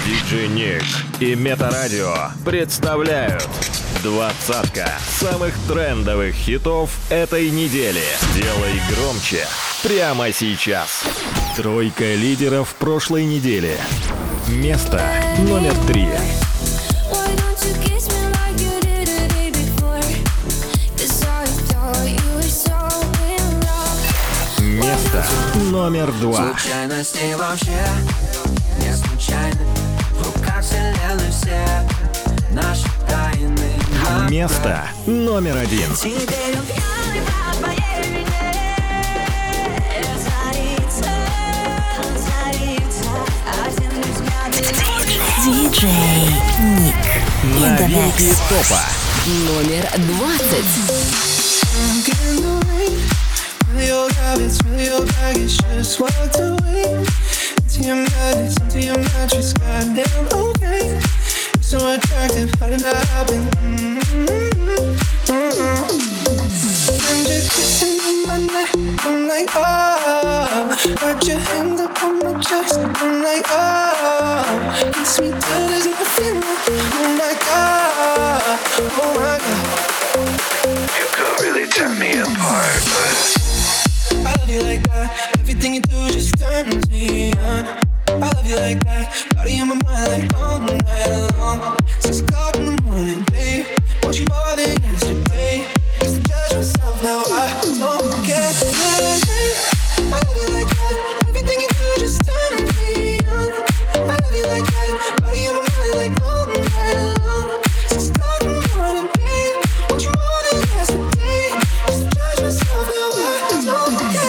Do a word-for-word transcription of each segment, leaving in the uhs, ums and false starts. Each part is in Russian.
диджей Ник и Метарадио представляют двадцатка самых трендовых хитов этой недели. Делай громче прямо сейчас. Тройка лидеров прошлой недели. Место номер три. Место номер два. Случайно с ней вообще не случайно. В руках вселенной все наши тайны. Место номер один. Теперь он пьяный по твоей вине. Разорится, разорится. Один взгляд. Диджей Ник. Новинки топа. Номер двадцать. Feel your habits, feel your baggage, just walked away. Into your madness, into your mattress, goddamn okay. You're so attractive, how did that happen? Mm-hmm. Mm-hmm. And you're kissing on my neck, I'm like, oh. Got your hand up on my chest, I'm like, oh. Kiss me till there's nothing left, oh my god, oh my god. You could really tear me apart, but I love you like that. Everything you do just turns me on. I love you like that. Body on my mind like all night long. Six o'clock in the morning, babe. Want you more than yesterday. Used to judge myself, now I don't care. I love you like that. Everything you do just turns me on. I love you like that. Body on my mind like all night long. Six o'clock in the morning, babe. Want you more than yesterday. Used to judge myself, now I don't care.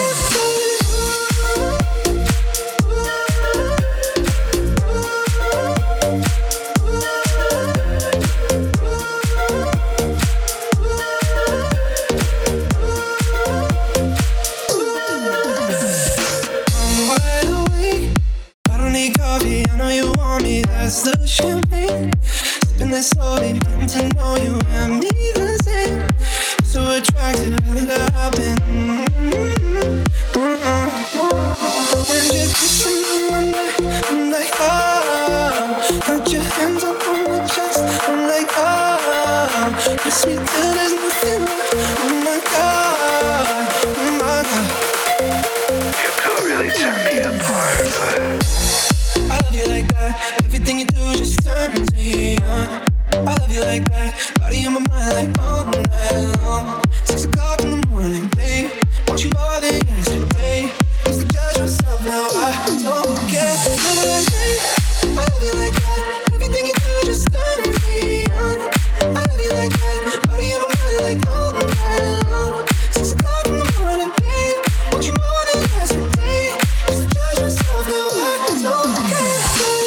That's the champagne. Sipping that slowly, getting to know you and me the same. So attractive, how did that happen? Mm-hmm. Mm-hmm. And you're kissing me on my neck, I'm like, oh. Got your hands up on my chest, I'm like, oh. Kiss me till there's nothing left, oh my god, oh my god. you could really tear me apart, but I love you like that. Everything you do just turns me on. I love you like that. Body on my mind like all night long. Six o'clock in the morning, babe. Want you more than yesterday. Used to judge myself, now I don't care. I love you like that. Everything you do just turns me on. I love you like that. Body on my mind like all night long. Six o'clock in the morning, babe. Want you more than yesterday. Used to judge myself, now I don't care.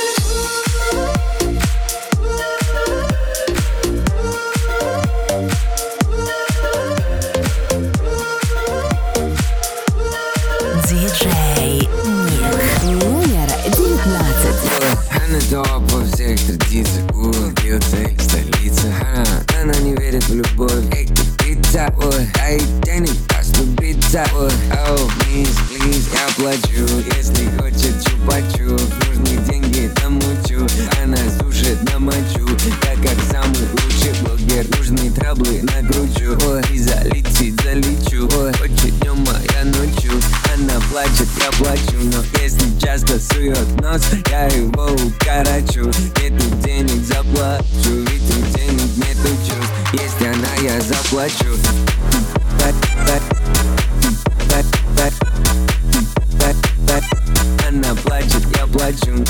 Диджей Ник. Номер девятнадцать. Она топ во всех традициях. Бьется их столица. Она, она не верит в любовь. Эй, ты пицца. А ей денег даст убиться. Oh, please, please, я плачу. Если хочет чупа-чуп, нужны деньги, намучу. Она сушит на мочу. Я как самый лучший блогер. Нужны траблы накручу. Ой, и залетит, залечу. Ой, хочет днем, а я ночью. Она плачет, я плачу. Но если часто сует нос, я его укорочу. Нету денег, заплачу. Ведь у денег нету чувств. Если она, я заплачу. Она плачет, я плачу.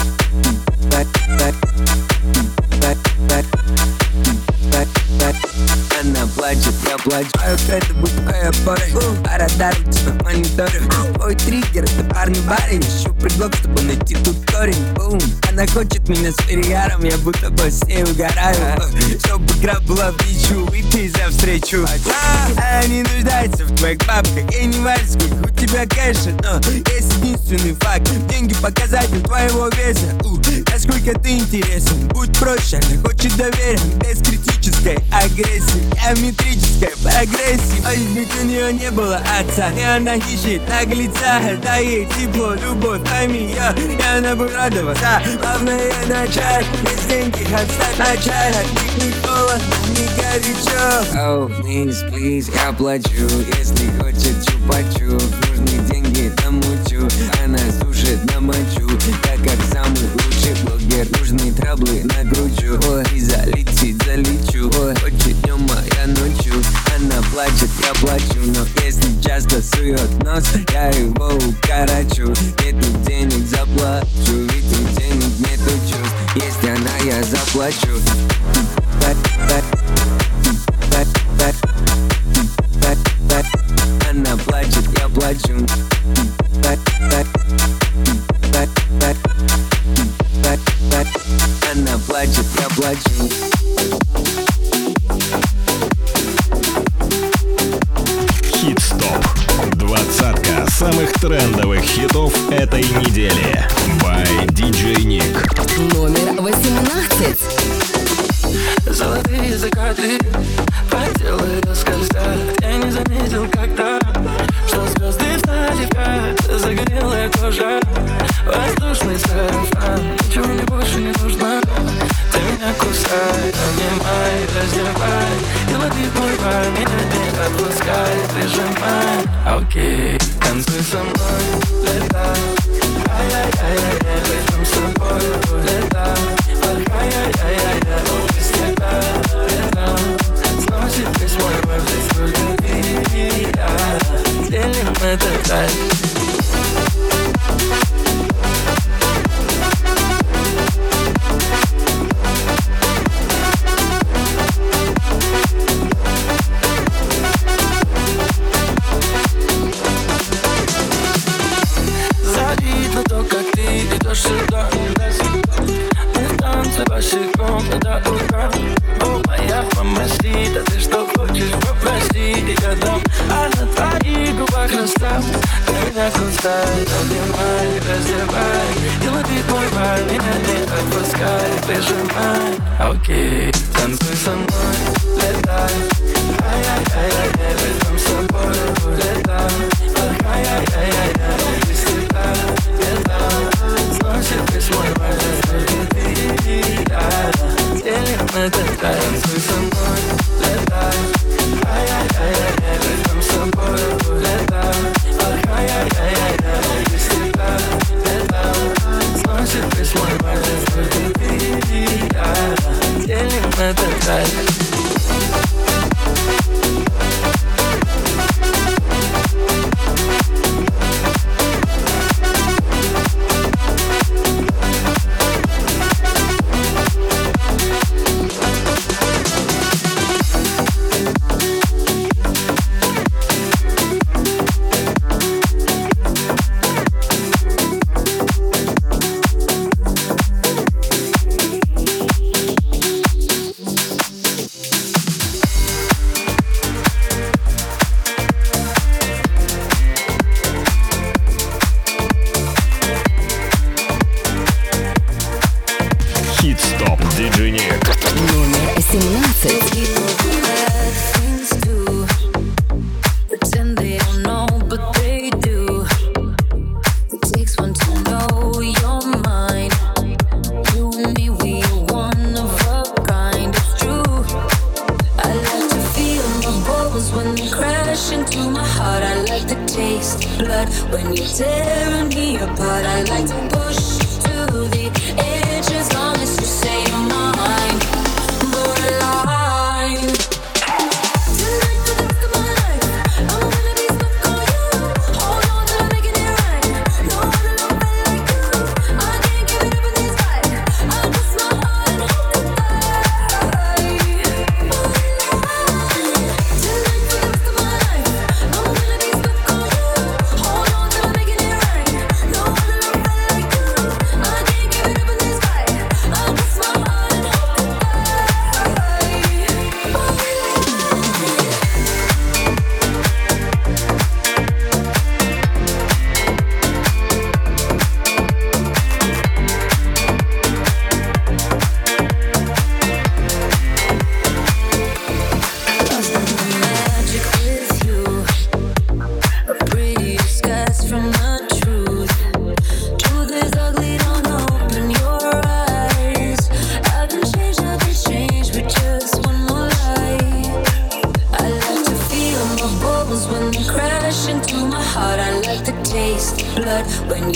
Она плачет, я плачу. А это будет моя пора. Пора дарить на мониторе. Ой, триггер, это парни барин. Ищу предлог, чтобы найти тут корень. Бум. Она хочет меня с перегаром. Я будто бы с ней угораю. Чтобы игра была в ничью. Выпей за встречу. А не нуждается в твоих бабках. И не важно, сколько у тебя кэша. Но есть единственный факт. Деньги показатель твоего веса. У, насколько ты интересен. Будь проще, она хочет доверия. Без критической агрессии. Геометрической прогрессии. Ой, ведь у нее не было отца. И она ищет наглеца. Дай ей тепло, любовь, пойми я, я не буду радоваться. Главное начать, без деньги отстать на чай. От них не холодно, не горячо. Oh, please, please, я плачу. Если хочет чупачу, нужны деньги намучу. Она сушит на мочу, я как самый лучший блогер. Нужны траблы накручу. Ой, и залетит, залечу. Ой, хочет днем, а я ночью. Она плачет, я плачу. Но если часто сует нос, я его укорочу. Нету денег, заплачу. Ведь у денег нету чувств. Если она, я заплачу. Она плачет, я плачу. Она плачет, я плачу. Хит-стоп. Двадцатка самых трендовых хитов этой недели. By ди джей Nick. Номер восемнадцать. Золотые закаты по телу скользят. Я не заметил когда, что звезды встали в ряд. Загорелая кожа, воздушный сарафан. Ничего мне больше не нужно. Ты меня кусай, обнимай, раздевай. И лови мой пар, меня не отпускай. Прижимай, окей, танцуй со мной, летай. Ай-яй-яй-яй, возьмем с собой, летай. Ай-яй-яй-яй, без тебя, летам. Сносит весь мой мир, здесь только ты и я. Делим этот рай. Завидно то, как ты идешь сюда. Мы в танце босиком до утра. О, моя мамасита, ты что хочешь, попроси, я дам. А на твоих губах расстав. Ты меня кусай, обнимай, раздевай. И лови мой бар, меня не отпускай. Прижимай, окей, танцуй со мной, летай. Ай-яй-яй-яй, возьмем с собой, летай. Ай-яй-яй-яй, без тебя, летам. Сносит весь мой бар, только ты и я. Делим этот рай. Танцуй со мной, летай. Ай-яй-яй-яй, возьмем с собой, летай. Ай-яй-яй-яй, без тебя, летам. Сносит весь мой бар, только ты и я. Делим этот рай.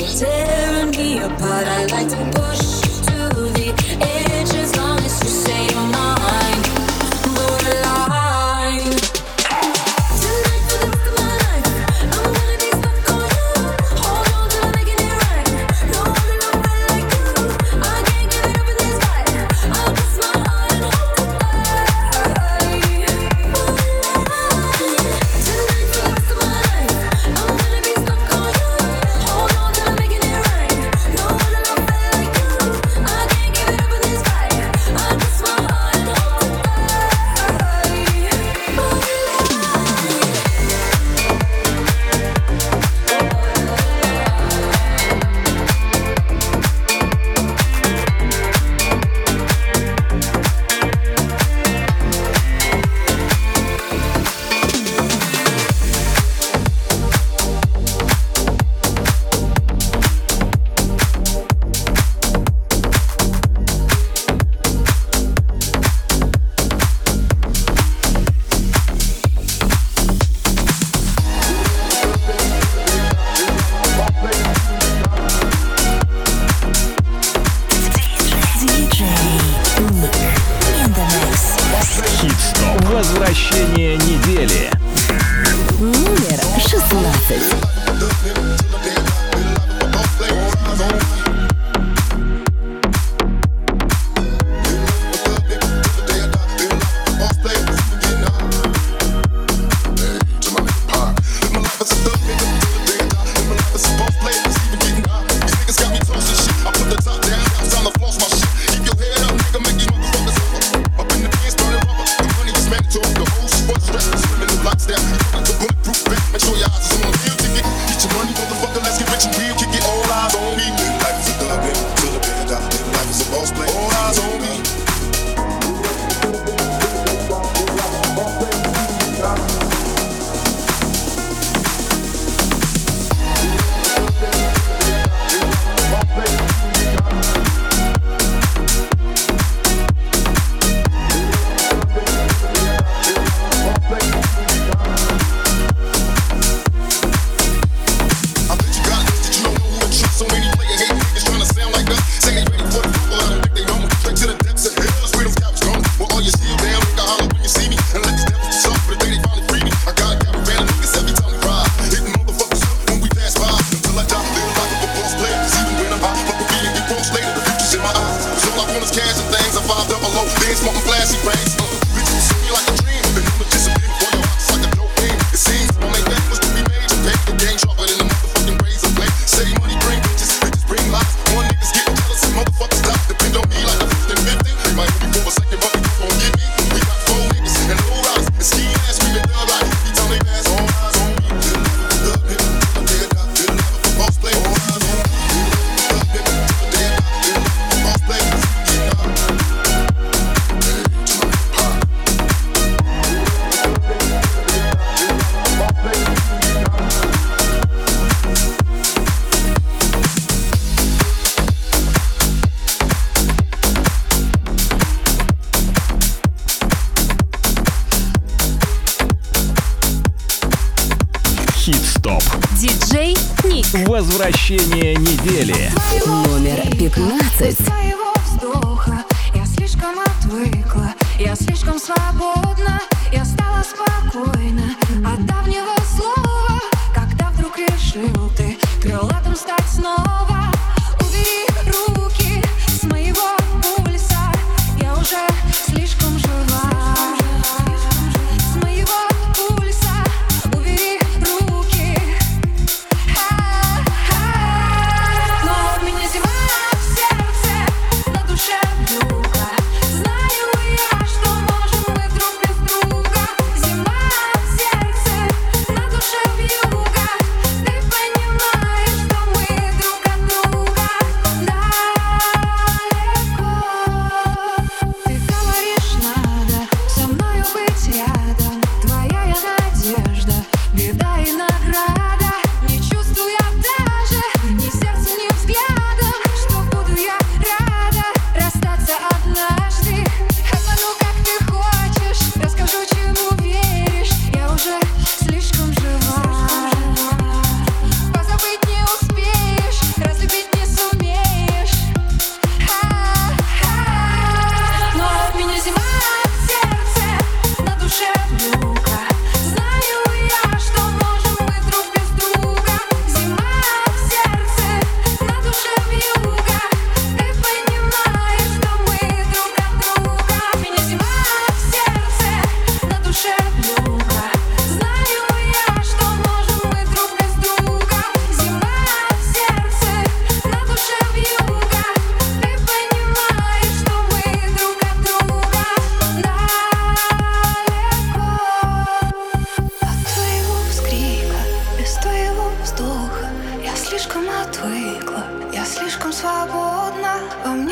tearing me apart. I like to push to the edge as long as you say you're mine. Borderline. Tonight for the rest of my life, I'm gonna be stuck on you. Hold on till I'm making it right. No one to love me like you. I can't give it up in this fight. I'll kiss my heart and hope to die. Tonight for the rest of my life, I'm gonna be stuck on you. Hold on till I'm making it right. No one to love me like you. I can't give it up in this fight. I'll kiss my heart and hope to die. Хит-стоп. Возвращение недели. Номер шестнадцать. Хит-стоп. Диджей Ник. Возвращение недели. Номер пятнадцать. Своего вздоха я слишком отвыкла, я слишком свободна, я стала спокойна от давнего слова, когда вдруг решил ты крылатым стать снова. Убери руки с моего пульса, я уже слишком жива. С моего пульса убери руки. Но у меня зима в сердце, на душе вьюга. Знаю я, что можем мы друг без друга. Зима в сердце, на душе вьюга. Ты понимаешь, что мы друг от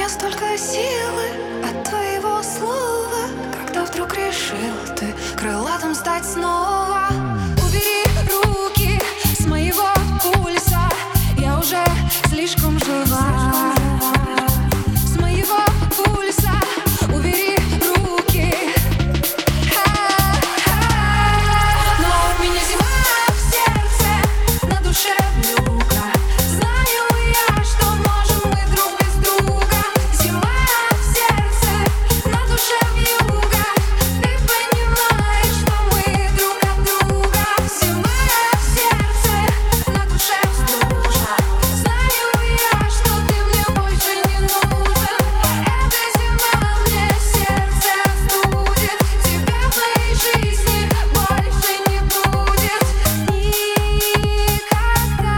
столько силы от твоего слова, когда вдруг решил ты крылатым стать снова. Убери руки с моего пульса, я уже слишком жива. С моего пульса убери руки. Но у меня зима в сердце, на душе вьюга. Знаю я, что можем мы друг без друга. Зима в сердце, на душе вьюга. Ты понимаешь, что мы друг от друга. Зима в сердце, на душе стужа. Знаю я, что ты мне больше не нужен. Эта зима мне сердце остудит. Тебя в моей жизни больше не будет никогда.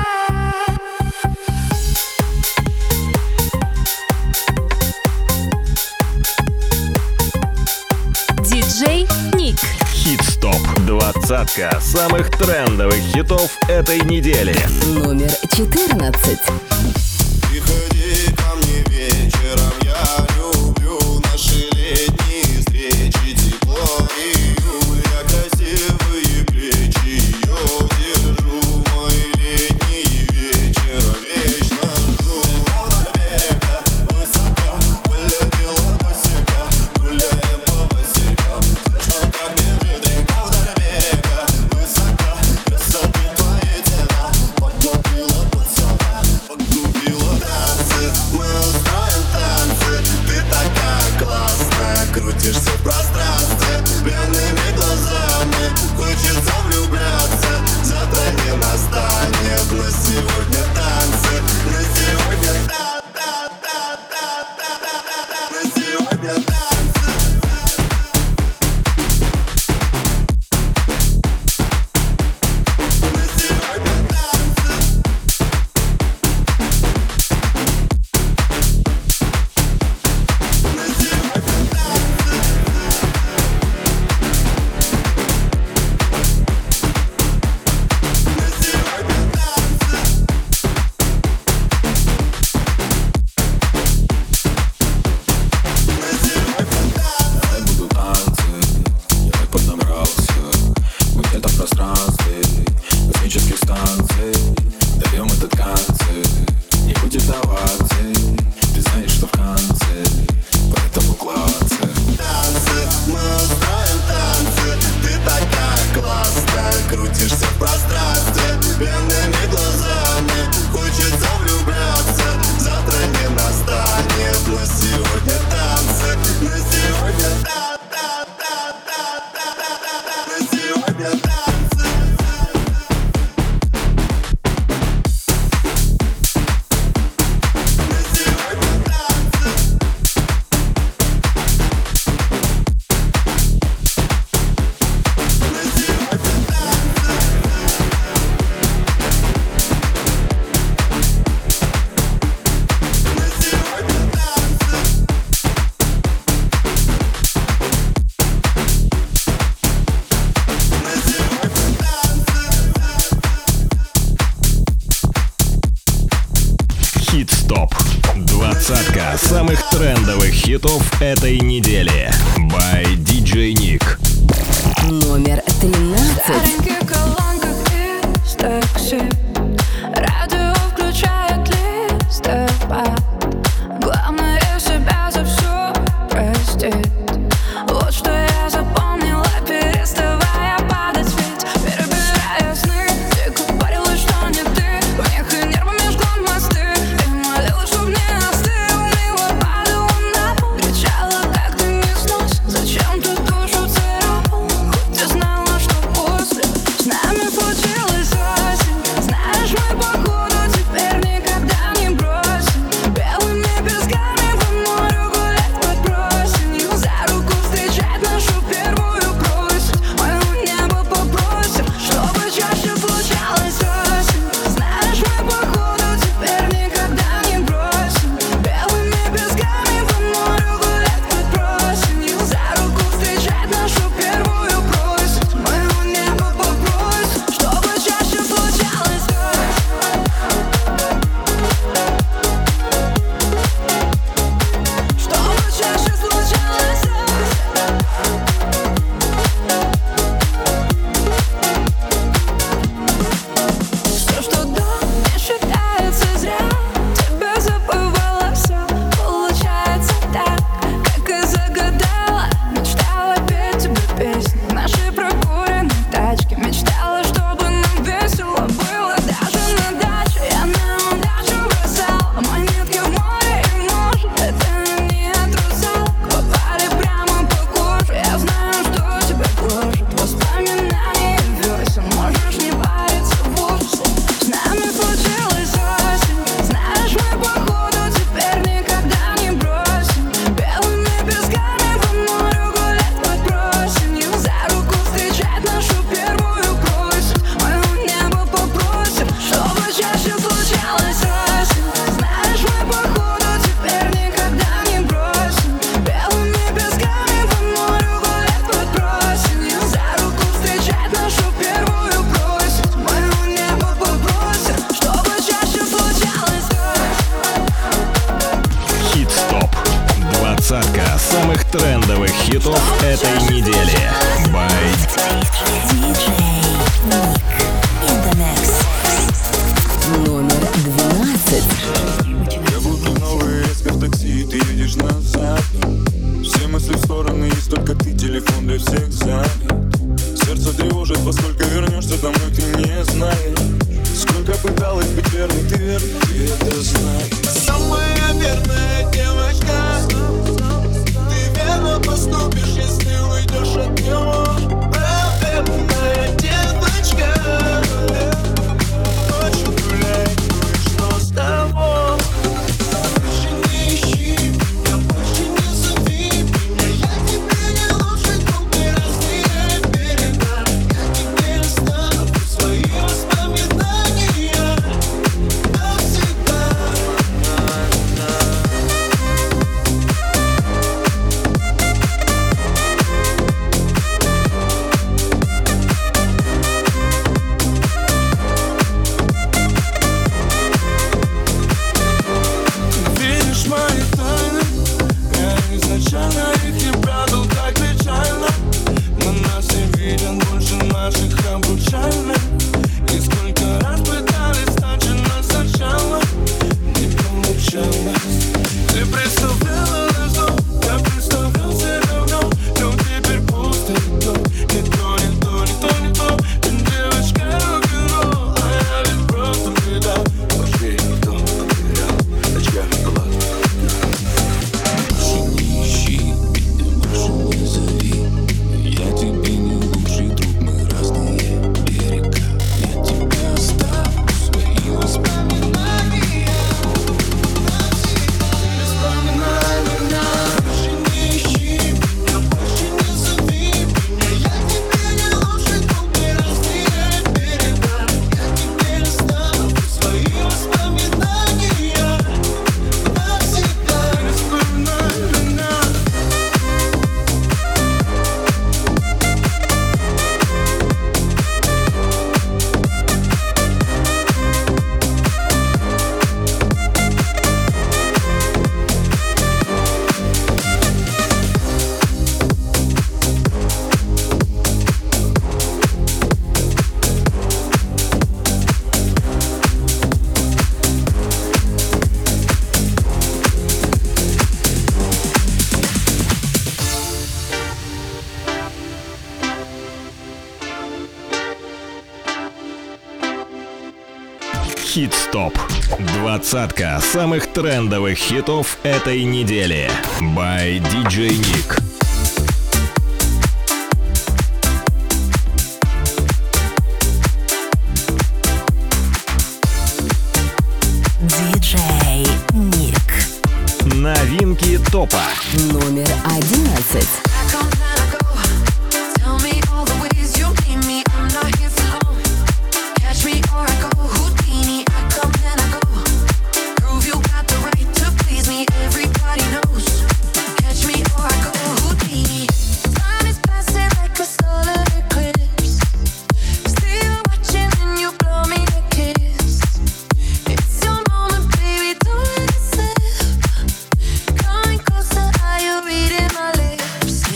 Диджей Ник. Хит-стоп. Двадцатка самых трендовых хитов этой недели. Номер четырнадцать. Приходи ко мне вечером, я люблю наши летние встречи, тепло июля, красивые плечи, ее держу, мои летние вечера, вечно жду. Вдоль берега, высоко, полетела босика, гуляем по босикам, слышно, как бежит река. Вдоль берега, высоко, красоты твои тела, подкупила пацана, подкупила танцы. Мы устроим танцы, ты такая классная, крутишься в пространстве, пьяными глазами, хочется влюбляться, завтра не настанет, но сегодня танцы, на сегодня та-та-та-та-та-та-та, на сегодня танцы. На сегодня танцы. На сегодня танцы. На сегодня танцы. На сегодня танцы. Буду танцы, я так поднабрался, мы где-то в пространстве космических станций, даем этот концерт, не будет оваций, ты знаешь, что в конце, поэтому классы. Танцы, мы устроим танцы, ты такая классная, крутишься в пространстве, пьяными глазами, хочется влюбляться, завтра не настанет, но сегодня танцы, на сегодня та-та-та-та-та-та, на сегодня танцы. На сегодня танцы. На сегодня танцы. На сегодня танцы. На сегодня танцы. Хит-стоп. Двадцатка самых трендовых хитов этой недели. By диджей Ник. Номер тринадцать. Стареньких колонках из такси, радио включает листопад. Главное себя за все простить. Вот что я запомнила, переставая падать ведь, перебирая сны. Ты говорила, что не ты, помех и нервами жгла мосты. Ты молила, чтоб не остыл, мило падала на пол, кричала, как ты не сносен, зачем ты душу царапал? Хоть ты знала, что после с нами случилась осень. Знаешь, мы походу теперь никогда не бросим. Белыми песками по морю гулять под просенью. Двадцатка самых трендовых хитов этой недели. By Номер двенадцать. Я будто новый резко в такси, ты едешь назад. Все мысли в стороны, есть только ты, телефон для всех занят. Сердце тревожит, во сколько вернешься домой, ты не знаешь. Сколько пыталась быть верной, ты верный, ты это знаешь. Самая верная девочка, ты верно поступишь, если уйдешь от него. Правильная девочка, ночью гуляй, ну и что с того? Больше не ищи меня, больше не зови меня. Я тебе не лучший друг, мы разные берега. Я тебе оставлю свои воспоминания навсегда. Видишь мои тайны, я изначально их не прятал так печально. Но нас не виден больше наших обручальных. И сколько раз пытались начинать сначала, не получалось. Ты представляла наш дом, я представлял себя в нем. Но теперь пусто и то, не то, не то, не то, не то. Ты девочка рок-н-ролл, а я ведь просто предал. Вообще не то, потерял, очками глаз. Больше не ищи меня, больше не зови. Я тебе не лучший друг, мы разные берега. Я тебе оставлю свои воспоминания навсегда. Воспоминания. Больше не ищи меня, больше не зови меня. Я тебе не лучший друг, мы разные берега. Я тебе оставлю свои воспоминания навсегда. Воспоминания. Хит-стоп. Двадцатка самых трендовых хитов этой недели. By ди джей Nick. Диджей Ник. Новинки топа. Номер одиннадцать. Coming closer, are you reading my lips?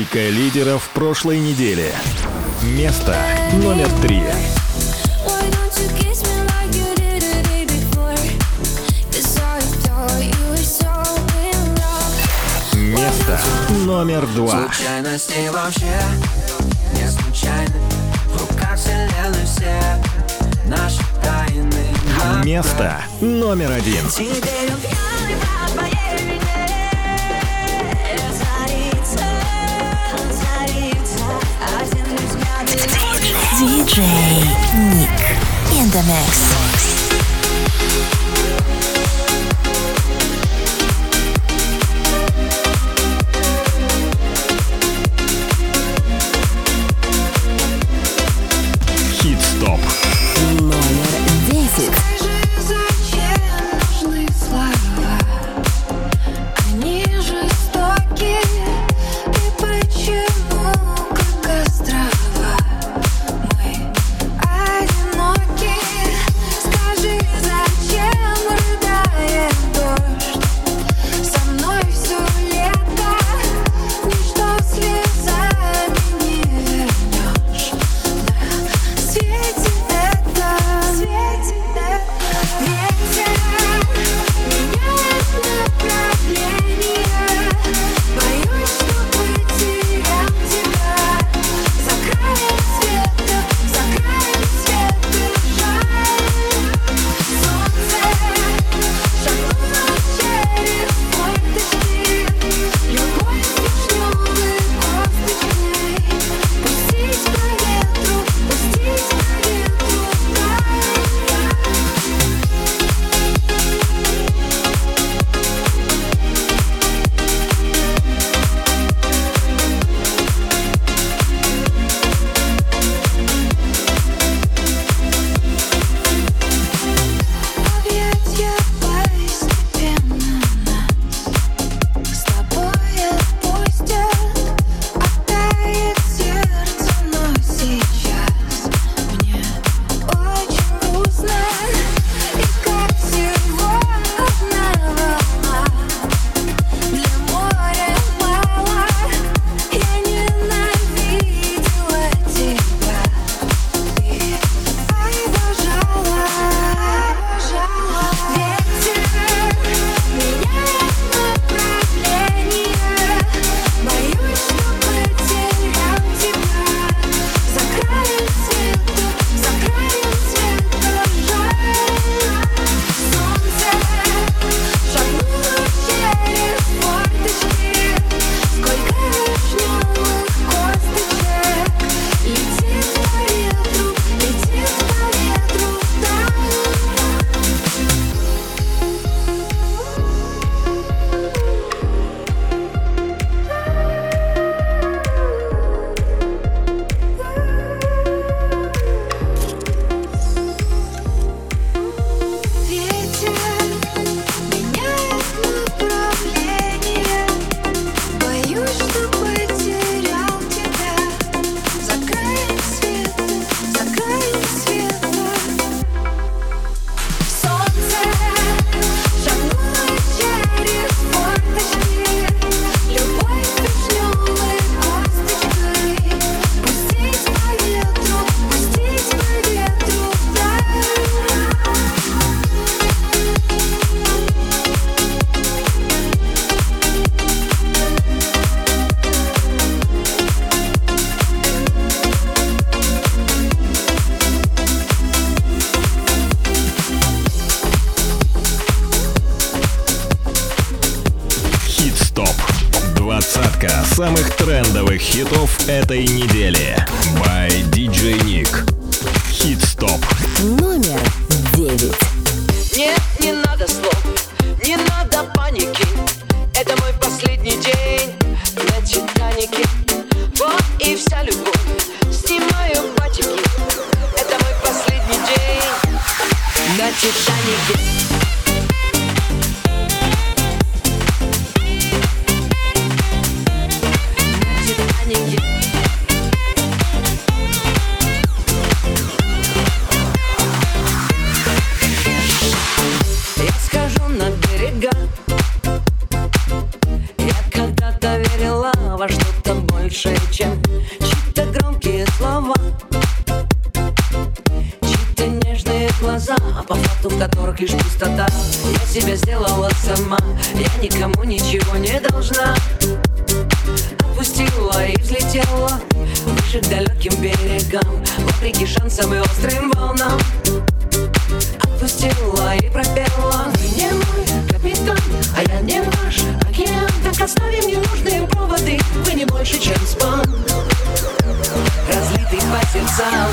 Тройка лидеров прошлой недели. Место номер три. Why don't you kiss me like you did the day before? 'Cause I thought you were so in love. Место номер два. Случайности вообще не случайны. В руках вселенной все наши тайны. Место номер один. Теперь убьем по твоей вине. Разорится, разорится один взгляд. диджей Ник in the mix. Хит-стоп. Номер десять. Зачем нужны слова? Они жестоки. И почему, как острова, мы одиноки? Скажи, зачем рыдает дождь? Со мной все лето. Ничто слезами не вернешь. На свете это, свете это ветер меняет направление. Боюсь, что потерял тебя. За краем света, за краем света жаль. Солнце шагнуло через форточки. Любовь вишневой косточкой. Пустить по ветру, пустить по ветру вдаль. Объятья постепенно нас с тобой отпустят. Оттает сердце, но сейчас мне очень грустно. И как всего одна волна для моря мало. Я ненавидела тебя. Ты обожала, обожала. Ветер меняет направление. Боюсь, что потерял тебя. За краем света, за краем света жаль. Солнце шагнуло через форточки. Сколько вишневых косточек. Летит по ветру, летит по ветру вдаль. Ветер меняет направление. Боюсь, что потерял тебя. За краем света, за краем света. Солнце шагнуло через форточки. Любовь вишневой косточкой. Пустить по ветру, пустить по ветру вдаль. Хит-стоп. Двадцатка самых трендовых хитов этой недели. By диджей Ник. Хит-стоп. Номер девять. Нет, не надо слов, не надо паники. Это мой последний день на Титанике. Вот и вся любовь, снимаю батики. Это мой последний день на Титанике. На Титанике. Я схожу на берега. Я когда-то пустота. Я себя сделала сама, я никому ничего не должна. Отпустила и взлетела выше к далеким берегам, вопреки шансам и острым волнам. Отпустила и пропела: вы не мой капитан, а я не ваш океан. Так оставим ненужные проводы, вы не больше, чем спам, разлитый по сердцам.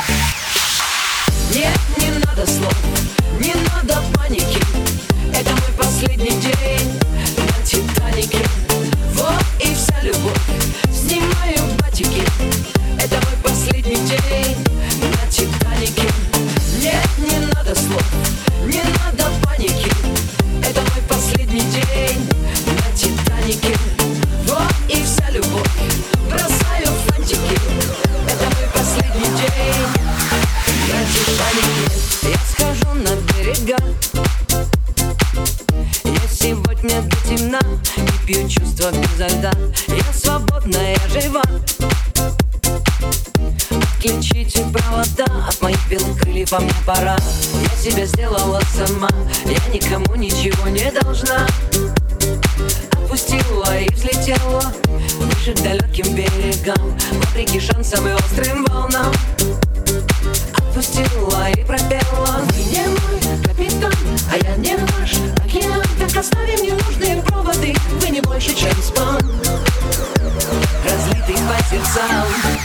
Нет, не надо слов, не надо паники. Это мой последний день на Титанике. Вот и вся любовь, снимаю батики. Это мой последний день на Титанике. Нет, не надо слов, не надо паники. Это мой последний день на Титанике. Вот и вся любовь, бросаю фантики. Это мой последний день на Титанике. Я схожу на берега, я сегодня до темна и пью чувства безо льда. Я свободна, я жива. Отключите провода от моих белых крыльев, а мне пора. Я себя сделала сама, я никому ничего не должна. Отпустила и взлетела выше к далеким берегам, вопреки шансам и острым волнам. Отпустила и пропела: вы не мой капитан, а я не ваш океан. Так оставим ненужные проводы, вы не больше, чем спам, разлитый по сердцам.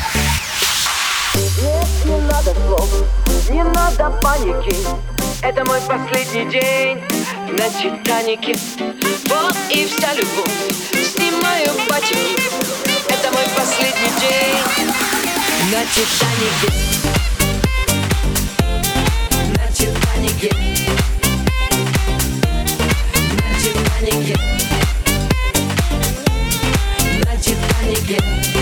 Нет, не надо слов, не надо паники. Это мой последний день на Титанике. Вот и вся любовь, снимаю батики. Это мой последний день на Титанике. На Титанике. На Титанике. На Титанике.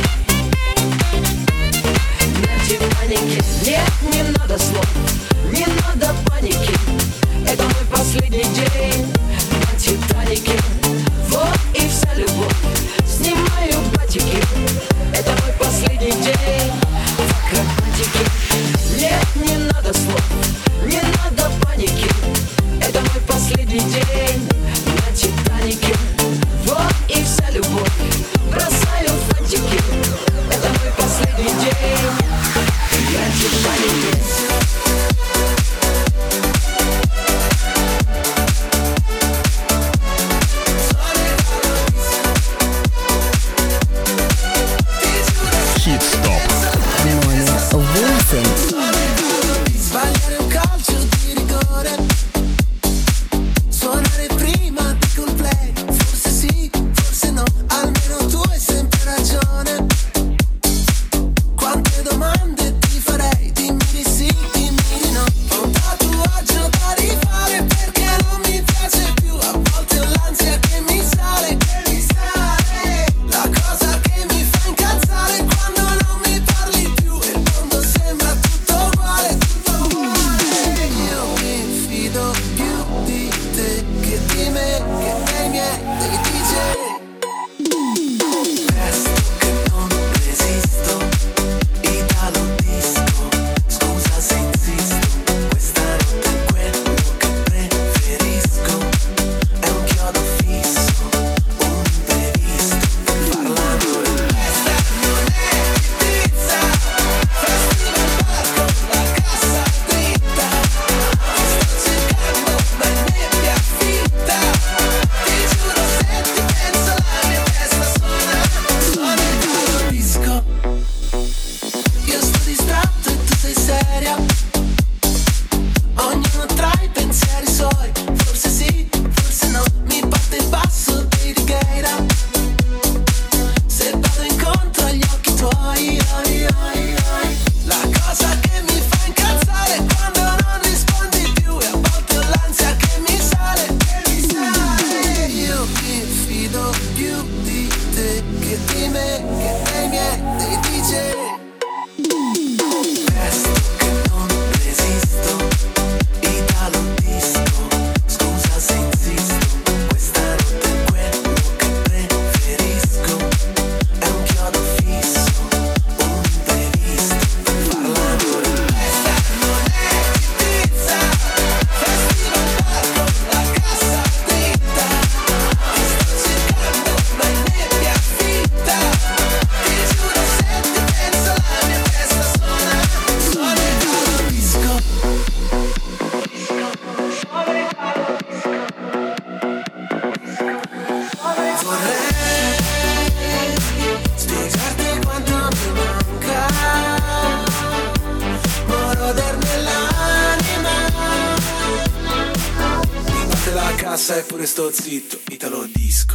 На Титанике. Нет, не надо слов, не надо паники. Это мой последний день на Титанике. Вот и вся любовь, снимаю батики. Это мой последний день в акробатике. Нет, не надо слов, не надо паники. Это мой последний день на Титанике. Вот и вся любовь, бросаю фантики. Это мой последний день на Титанике. cassa e pure sto zitto, italo disco.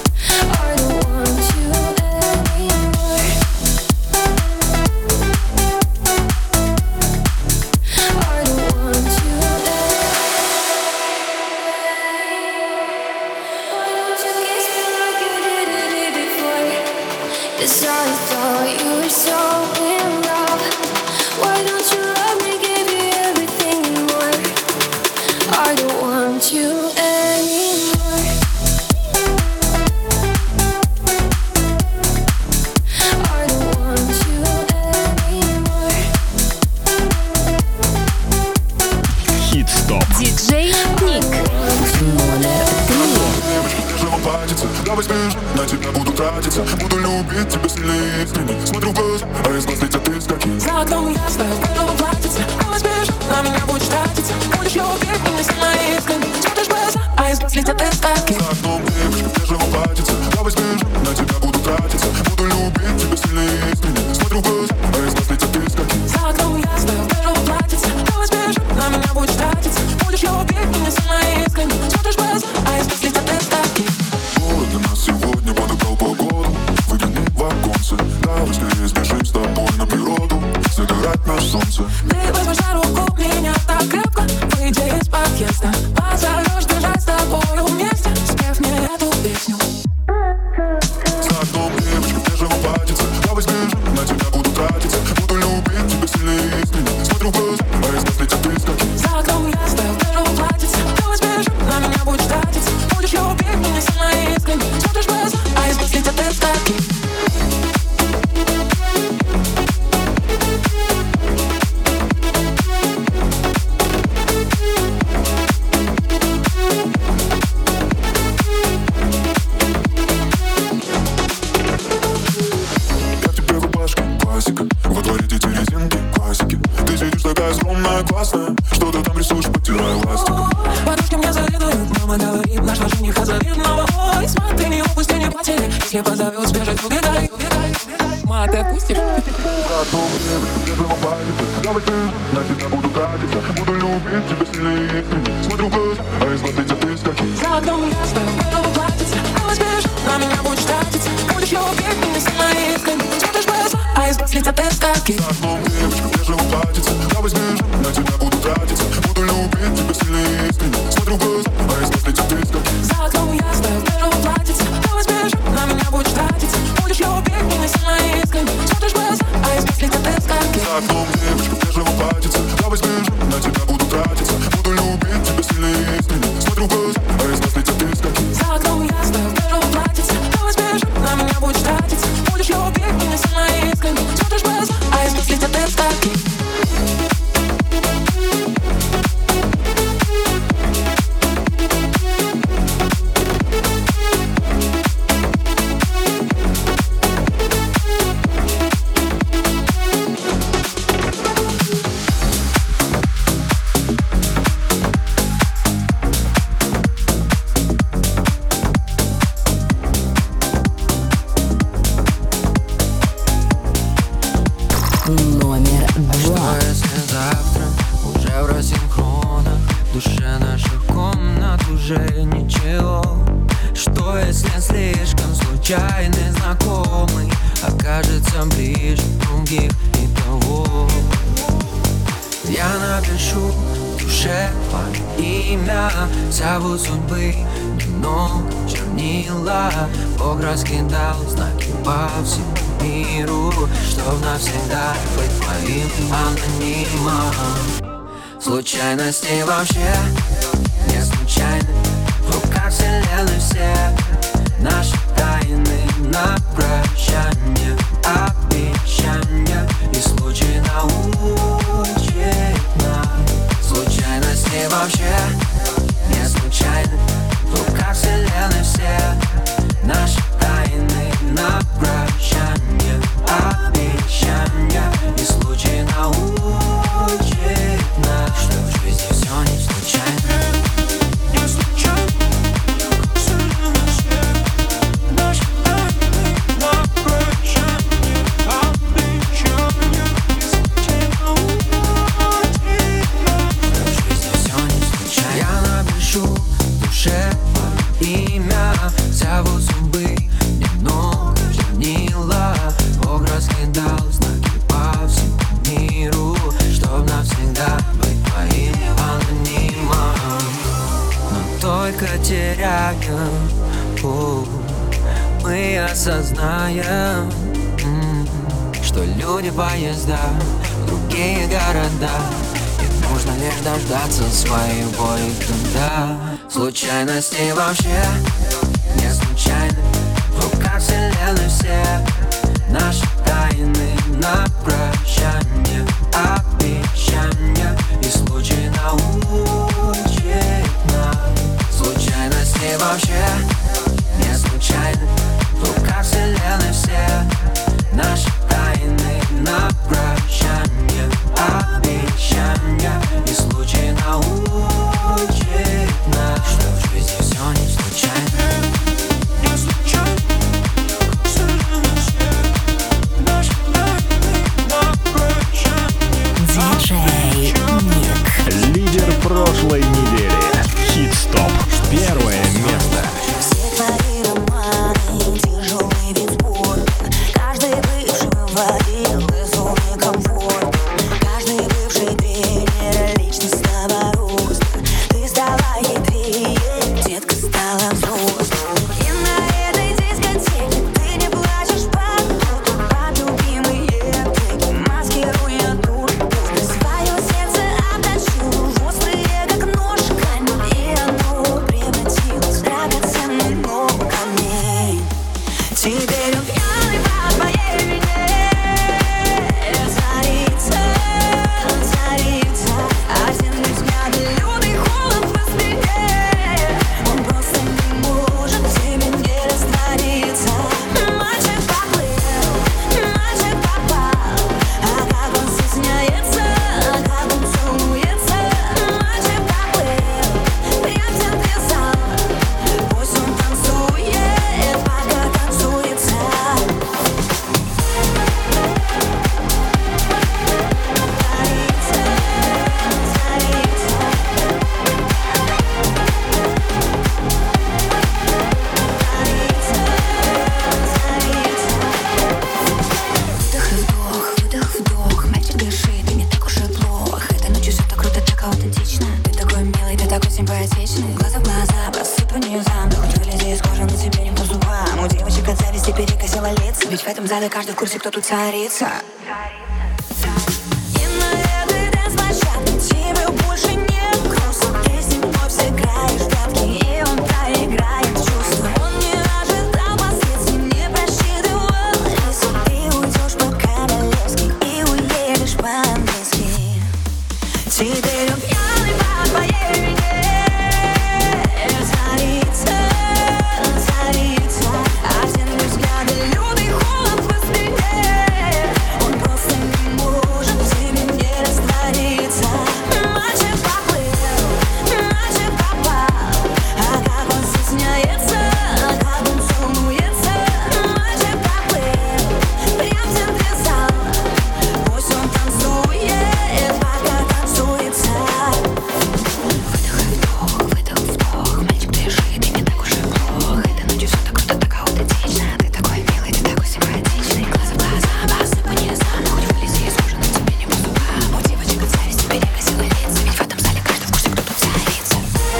I don't want you anymore. I don't want you Why don't you kiss me like you did it before? 'Cause I thought you were so in love. Why don't you love me, give you everything and more? I don't want you anymore. давай сбежим, на тебя буду тратиться. Буду любить тебя сильнее искренне. Смотрю в глаза, а из глаз летят искорки. За окном ясно, в белом платьице. Давай сбежим, на меня будешь тратиться. Будешь любить меня сильнее искренне. Смотришь в глаза, а из глаз летят искорки. За окном девушка в бежевом платьице. Давай сбежим, на тебя буду тратиться. Буду любить тебя сильнее искренне. Смотрю в глаза, а из глаз летят искорки. За окном ясно, в белом платьице. Давай сбежим, на меня будешь тратиться. Будешь любить меня сильнее искренне. Смотришь в глаза, а из глаз летят искорки. Город для нас сегодня подобрал погоду. Выгляни в оконце. Давай скорее сбежим с тобой на природу. Загорать на солнце. Ты возьмешь за руку меня так крепко. Выйди из подъезда. Позовешь бежать с тобою вместе. Спев мне эту песню. За окном девушка в бежевом платьице. Давай сбежим, на тебя буду тратиться. Буду любить тебя сильнее искренне. Смотрю в глаза, а из глаз летят искорки. За окном ясно, в бежевом платьице. Давай сбежим, на меня будешь тратиться. Будешь любить меня сильнее искренне. Смотришь в глаза, а из глаз летят искорки. Во дворе дети резинки, классики. Ты сидишь такая скромная, классная. Что ты там рисуешь, подтирая ластиком. Подружки мне завидуют, мама говорит, нашла жениха завидного. Ой, смотри, не упусти, не потери. Если позовет, сбежать, убегай, убегай. Ма, ты отпустишь? Давай ты, на тебя буду тратиться. Буду любить тебя сильнее искренне. Смотрю в глаза, а из глаз летят искорки. За окном ясно, в белом платьице. Давай сбежим, на меня будешь тратиться. Будешь любить меня сильнее искренне. Смотришь в глаза, а из глаз летят искорки. За окном девочка в бежевом платьице. Давай сбежим, на тебя буду тратиться. Буду любить тебя сильнее искренне. Смотрю в глаза, а из глаз летят искорки. За окном ясно, в белом платьице. Давай сбежим, на меня будешь тратиться. Будешь любить меня сильнее искренне. Смотришь в глаза, а из глаз летят искорки. За окном девочка в бежевом платьице. Давай сбежим, на тебя буду тратиться. Буду любить тебя сильнее искренне. Смотрю в глаза, а из глаз летят искорки. За окном ясно, в бежевом платьице. Давай сбежим, на меня будешь тратиться. Будешь любить меня сильнее искренне. Смотришь в глаза, а из глаз летят искорки. Номер Что два. если завтра уже в рассинхронах, в душе наших комнат уже ничего? Что если слишком случайный знакомый окажется ближе других и того? Я напишу в душе твое имя, зовут судьбы немного чернила. Бог раскидал знаки по всему миру, чтоб навсегда быть твоим анонимом. Случайности вообще не случайны. В руках вселенной все наши тайны на прощание, обещания. И случай научит. случайности вообще не случайны. В руках вселенной все наши тайны на прощание, обещания. И случай научит нас. Что в жизни все не случайно. В руках вселенной все наши тайны на прощание, обещания. И случай научит нас, что в жизни все не случайно. Не случайно. Вселенной все наши тайны на прощание, обещания. И случай научит нас, что в жизни все не случайно. Я напишу в душе имя, зовут судьбы немного чернила. Бог раскидал знаки по всему миру, чтоб навсегда быть твоим анонимом. Но только теряем путь, мы осознаем, м, что люди, поезда, другие города. И нужно лишь дождаться своей боли туда. Случайности вообще не случайны. В руках вселенной все наши тайны на прощание, обещания. И случай научит нас. Случайности вообще не случайны. лица. Ведь в этом зале каждый в курсе, кто тут царица. И на этой дэнс-площадке тебе больше нет грустно. Ты с ним вновь сыграешь в прятки, и он проиграет чувства. Он не ожидал последствий, не просчитывал риски. Ты уйдешь по-королевски и уедешь по-английски. Теперь он пьяный по твоей вине. Царица, царица, а все взгляды лютый холод в спине. Он просто не может в тебе не раствориться. Мальчик поплыл, мальчик попал, а как он стесняется, а как он сумуется. Мальчик поплыл, прям в центре зала. Пусть он танцует, пока танцуется. Выдох, вдох, выдох, вдох. Мальчик, дыши, ты не так уж и плох. Этой ночью все так круто, так аутентично. Ты такой милый, ты такой симпатичный. Глаза в глаза, посыпу не знаю. Хоть вылези из кожи, но тебе не по зубам. У девочек от зависти перекосила лица. Ведь в этом зале каждый в курсе, кто тут царица.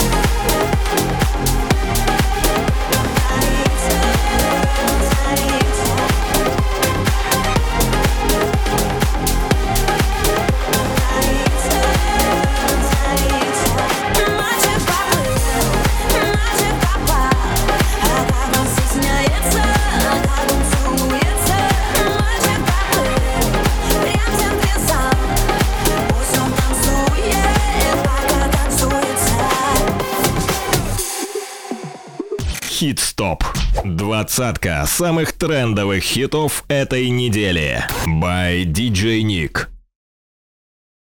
Мальчик поплыл, мальчик попал, а как он стесняется, а как он сумуется. Мальчик поплыл, прям в центре зала. Пусть он танцует, пока танцуется. Хит-стоп. Двадцатка самых трендовых хитов этой недели. By ди джей Nick.